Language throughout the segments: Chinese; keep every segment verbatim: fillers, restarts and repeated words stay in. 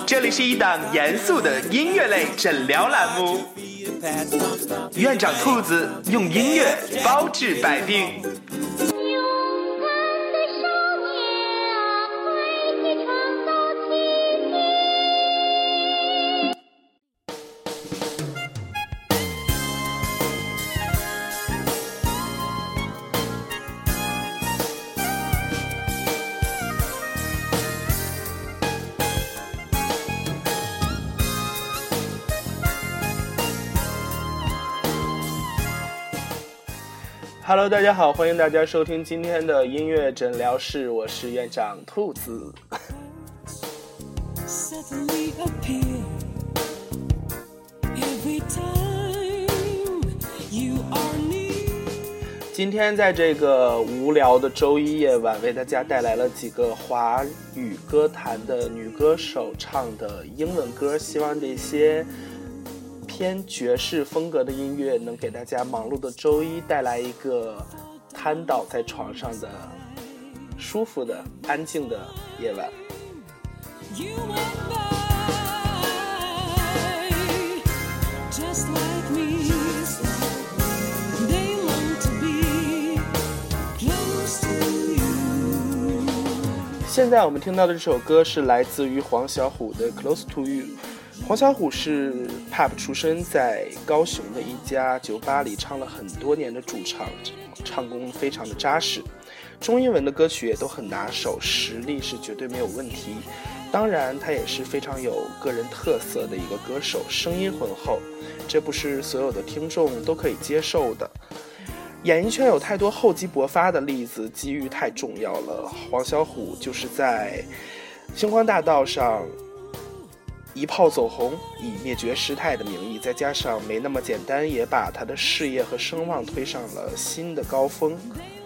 这里是一档严肃的音乐类诊疗栏目，院长兔子用音乐包治百病。Hello， 大家好，欢迎大家收听今天的音乐诊疗室，我是院长兔子。今天在这个无聊的周一夜晚，为大家带来了几个华语歌坛的女歌手唱的英文歌，希望这些偏爵士风格的音乐能给大家忙碌的周一带来一个瘫倒在床上的舒服的安静的夜晚。现在我们听到的这首歌是来自于黄小琥的 Close to You。黄小琥是 P U B 出身，在高雄的一家酒吧里唱了很多年的主唱，唱功非常的扎实，中英文的歌曲也都很拿手，实力是绝对没有问题。当然他也是非常有个人特色的一个歌手，声音浑厚，这不是所有的听众都可以接受的。演艺圈有太多厚积薄发的例子，机遇太重要了。黄小琥就是在星光大道上一炮走红，以灭绝师太的名义，再加上没那么简单，也把他的事业和声望推上了新的高峰。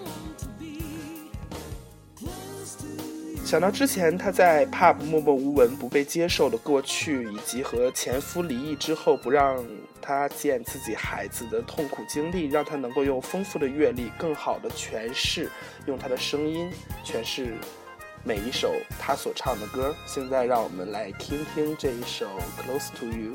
想到之前他在 P U B 默默无闻不被接受的过去，以及和前夫离异之后不让他见自己孩子的痛苦经历，让他能够用丰富的阅历更好的诠释，用他的声音诠释每一首他所唱的歌。现在让我们来听听这一首 Close to You。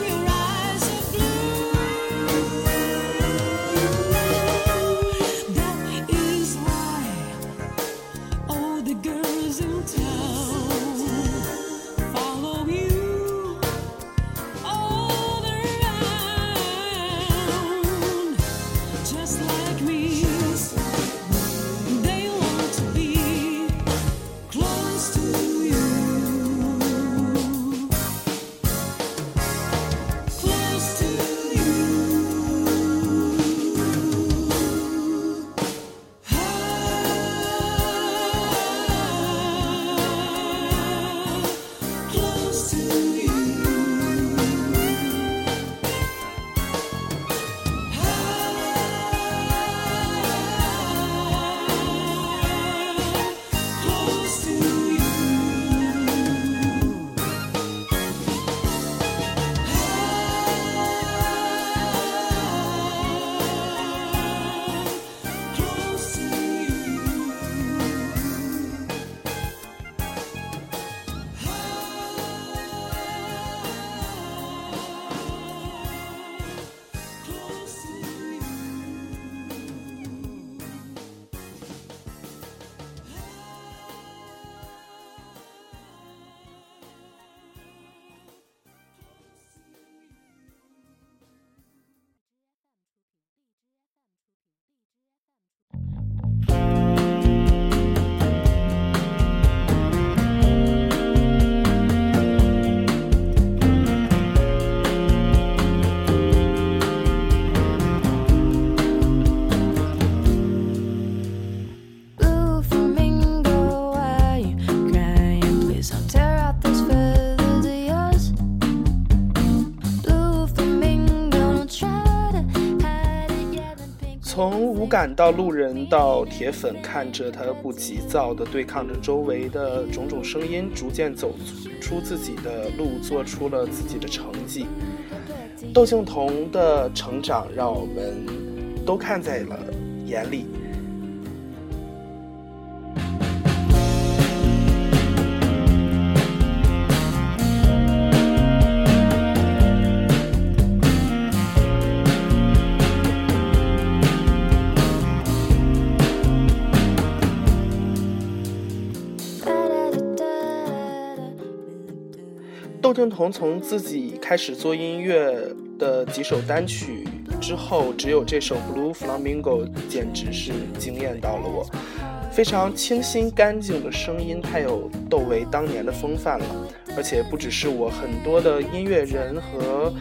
That 从无感到路人到铁粉，看着他不急躁地对抗着周围的种种声音，逐渐走出自己的路，做出了自己的成绩。窦靖童的成长让我们都看在了眼里。窦靖童从自己开始做音乐的几首单曲之后，只有这首 Blue Flamingo 简直是惊艳到了我，非常清新干净的声音，太有窦唯当年的风范了。而且不只是我，很多的音乐人和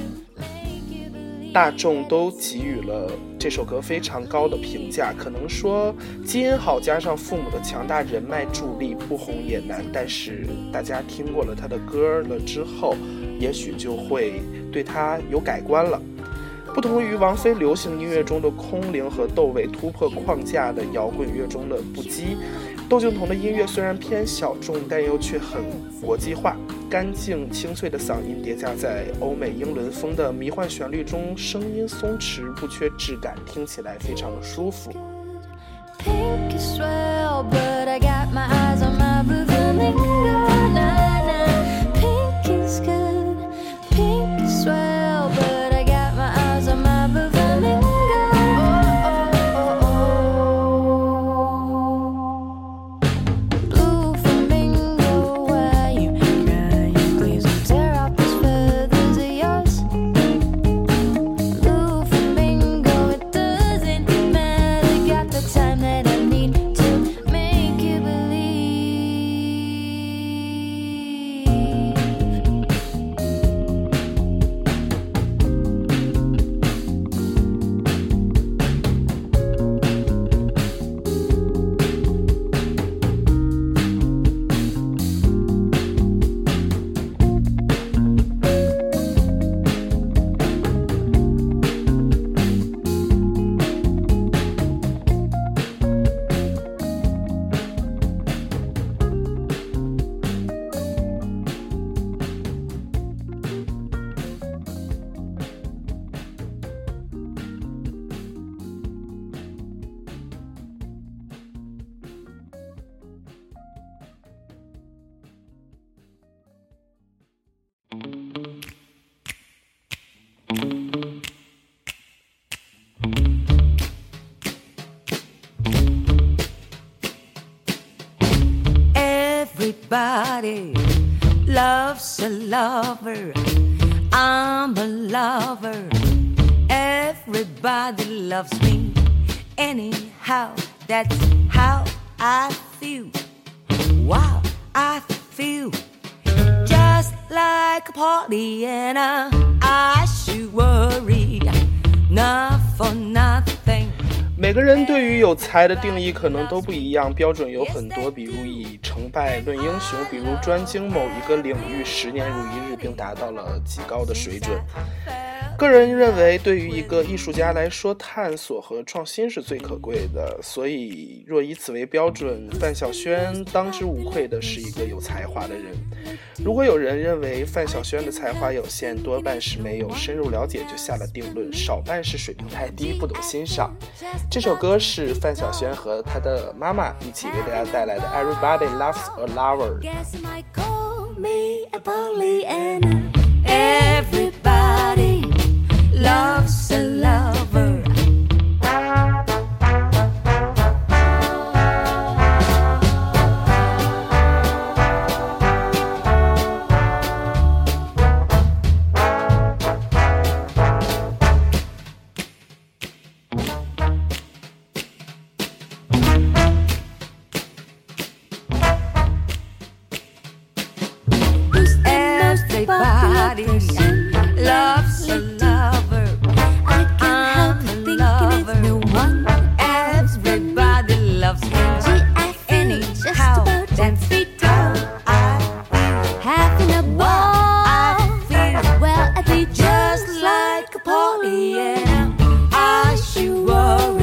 大众都给予了这首歌非常高的评价。可能说基因好加上父母的强大人脉助力，不红也难，但是大家听过了他的歌了之后，也许就会对他有改观了。不同于王菲流行音乐中的空灵和窦唯突破框架的摇滚乐中的不羁，窦靖童的音乐虽然偏小众，但又却很国际化，干净清脆的嗓音叠加在欧美英伦风的迷幻旋律中，声音松弛不缺质感，听起来非常的舒服。Pink is swell, but I got my eyes on my blue flamingo. Nah, nah. Pink is good, pink is swell, but I got my eyes on my blue flamingo. Oh, oh, oh, oh. Blue flamingo, why you crying? Please don't tear up these feathers of yours. Blue flamingo, it doesn't matter, got the time that I need to make you believe. Everybody loves a lover. I'm a lover. Everybody loves me. Anyhow, that's how I feel. Wow, I feel just like a Pollyanna. I should worry not for nothing. 每个人对于有才的定义可能都不一样，标准有很多，比如以成败论英雄，比如专精某一个领域十年如一日并达到了极高的水准。个人认为，对于一个艺术家来说，探索和创新是最可贵的，所以若以此为标准，范晓萱当之无愧的是一个有才华的人。如果有人认为范晓萱的才华有限，多半是没有深入了解就下了定论，少半是水平太低，不懂欣赏。这首歌是范晓萱和她的妈妈一起为大家带来的 Everybody Loves a Lover。 Everybody loves a lover. Everybody loves a lover. I can't help thinking it's no one. Everybody loves me. Anyhow, that's how I feel. Having a ball. I feel well, at least just like a Pollyanna. I should worry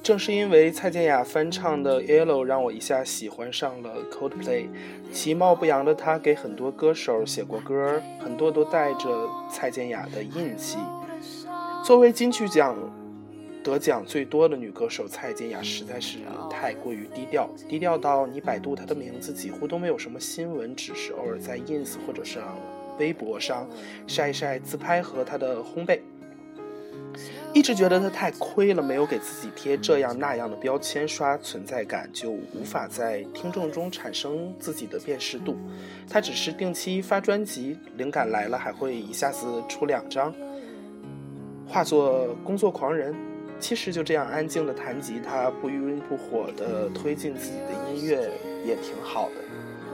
正是因为蔡健雅翻唱的 Yellow 让我一下喜欢上了 Coldplay。 其貌不扬的她给很多歌手写过歌，很多都带着蔡健雅的印记。作为金曲奖得奖最多的女歌手，蔡健雅实在是太过于低调，低调到你百度她的名字几乎都没有什么新闻，只是偶尔在 ins 或者是微博上晒一晒自拍和她的烘焙。一直觉得她太亏了，没有给自己贴这样那样的标签，刷存在感，就无法在听众中产生自己的辨识度。她只是定期发专辑，灵感来了还会一下子出两张，化作工作狂人。其实就这样安静的弹吉他，不温不火的推进自己的音乐也挺好的。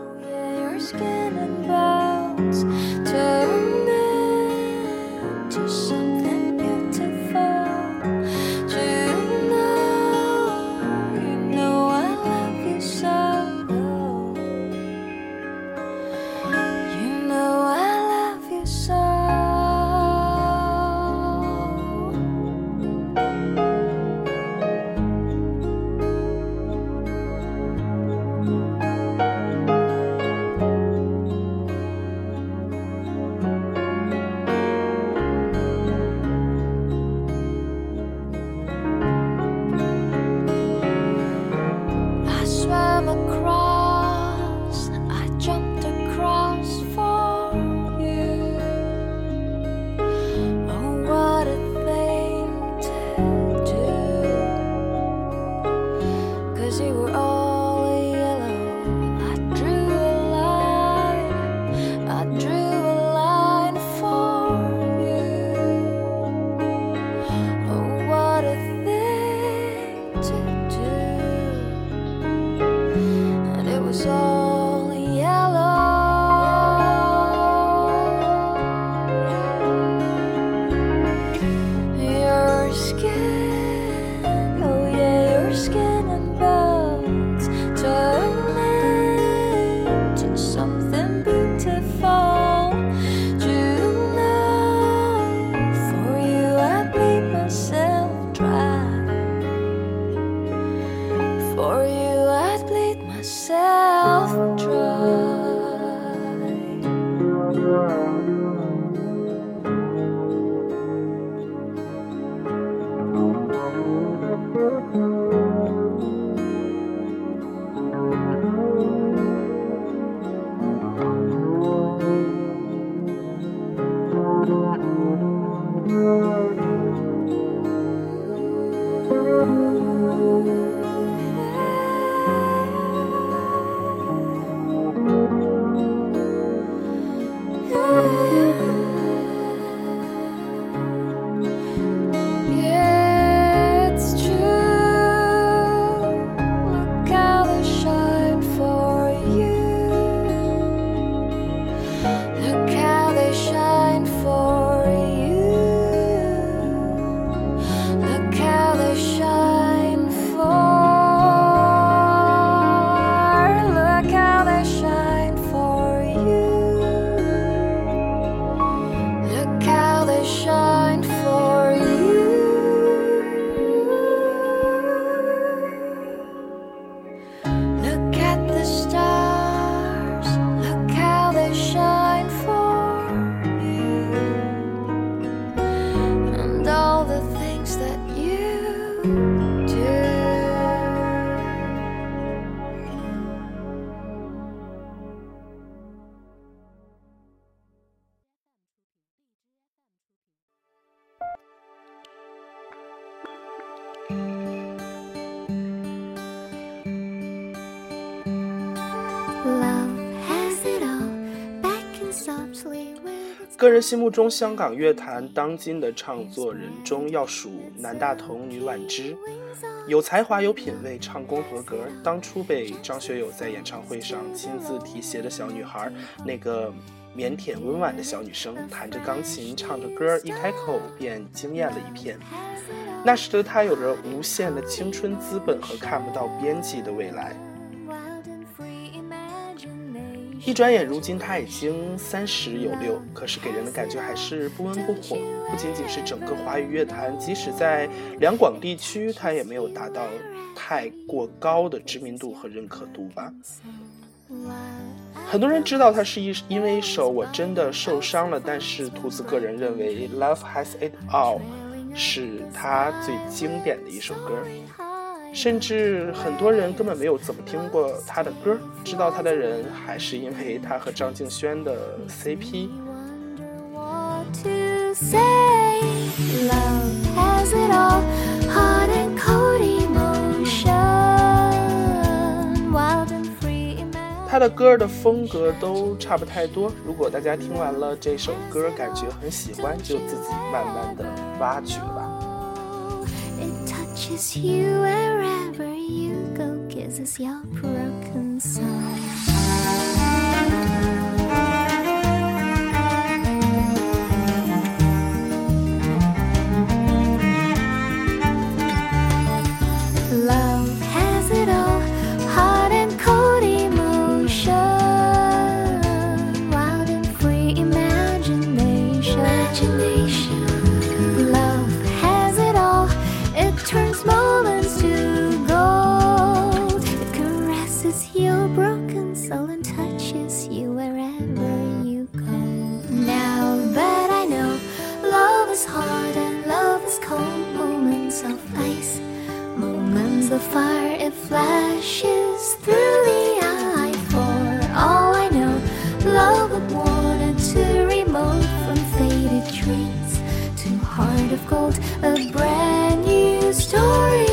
个人心目中香港乐坛当今的唱作人中要数男大同女婉芝，有才华有品味，唱功合格。当初被张学友在演唱会上亲自提携的小女孩，那个腼腆温婉的小女生，弹着钢琴唱着歌，一开口便惊艳了一片。那时的她有着无限的青春资本和看不到边际的未来。 一转眼如今他已经三十有六，可是给人的感觉还是不温不火。不仅仅是整个华语乐坛，即使在两广地区，他也没有达到太过高的知名度和认可度吧。很多人知道他是因为一首我真的受伤了，但是兔子个人认为 Love Has It All 是他最经典的一首歌，甚至很多人根本没有怎么听过他的歌，知道他的人还是因为他和张敬轩的 C P。 他的歌的风格都差不太多，如果大家听完了这首歌感觉很喜欢，就自己慢慢的挖掘吧。 Touches you wherever you go, kisses your broken soul. Love has it all, hot and cold emotion, wild and free imagination. Imagination. Love has it all, it turns moments to gold. It caresses your broken soul and touches you wherever you go. Now that I know love is hard and love is cold, moments of ice, moments of fire, it flashes through the eye. For all I know, love would wanted to remote from faded dreams to heart of gold, a brand new story.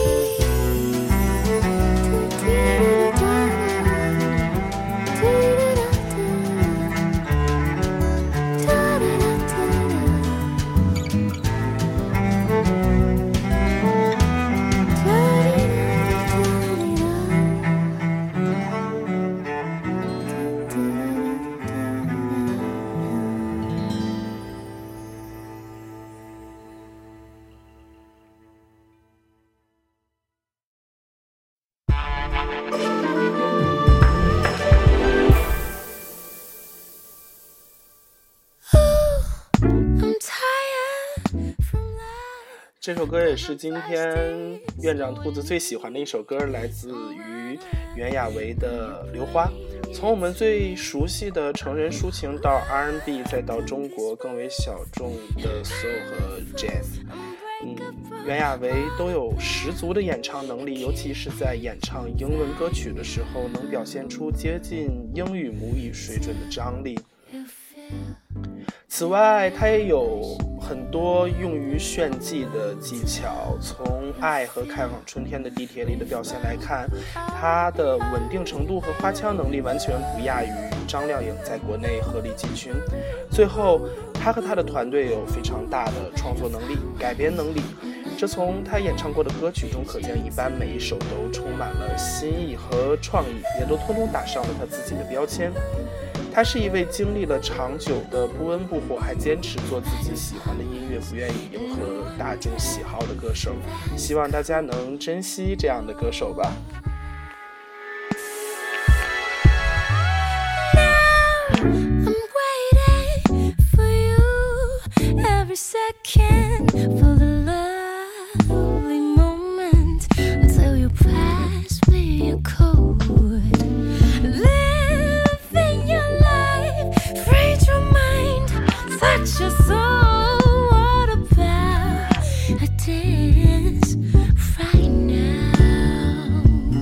I'm tired from life. 这首歌也是今天院长兔子最喜欢的一首歌，来自于袁娅维的《流花》。从我们最熟悉的成人抒情到 R and B， 再到中国更为小众的 soul 和 jazz， 嗯，袁娅维都有十足的演唱能力，尤其是在演唱英文歌曲的时候，能表现出接近英语母语水准的张力。此外，他也有很多用于炫技的技巧。从《爱》和《开往春天的地铁》里的表现来看，他的稳定程度和花腔能力完全不亚于张靓颖在国内鹤立鸡群。最后，他和他的团队有非常大的创作能力、改编能力，这从他演唱过的歌曲中可见一斑，每一首都充满了新意和创意，也都通通打上了他自己的标签。他是一位经历了长久的不温不火，还坚持做自己喜欢的音乐，不愿意迎合大众喜好的歌手。希望大家能珍惜这样的歌手吧。 I'm waiting for you every second, for the lovely moment until you pass me your code. Living your life, free your mind, touch your soul. What about a dance right now?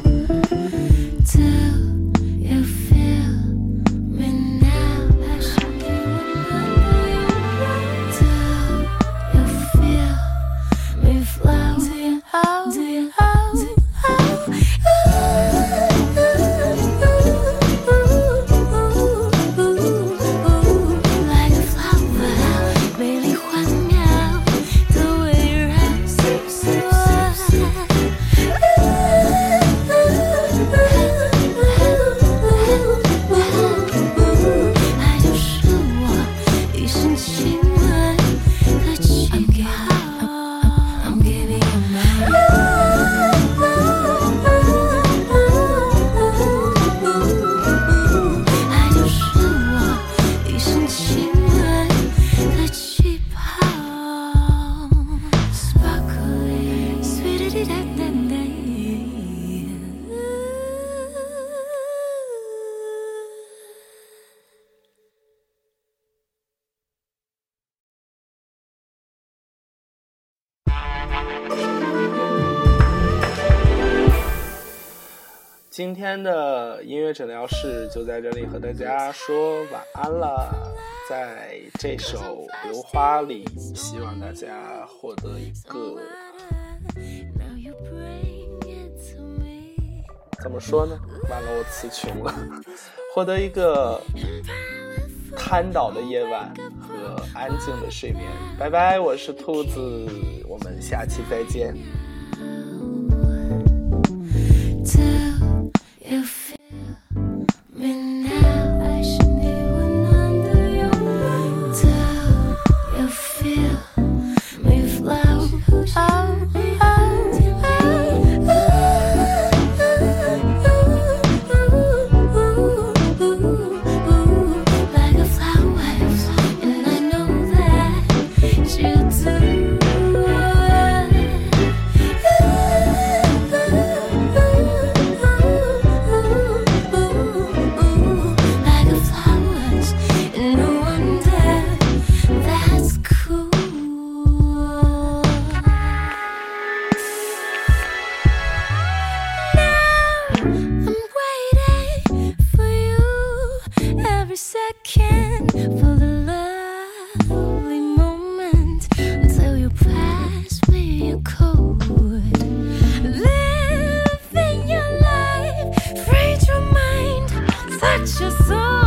今天的音乐诊疗室就在这里和大家说晚安了。在这首《流花》里，希望大家获得一个怎么说呢？完了，我词穷了。获得一个瘫倒的夜晚和安静的睡眠。拜拜，我是兔子，我们下期再见。 Second for the lovely moment until you pass me a code. Living your life, free your mind, touch your soul.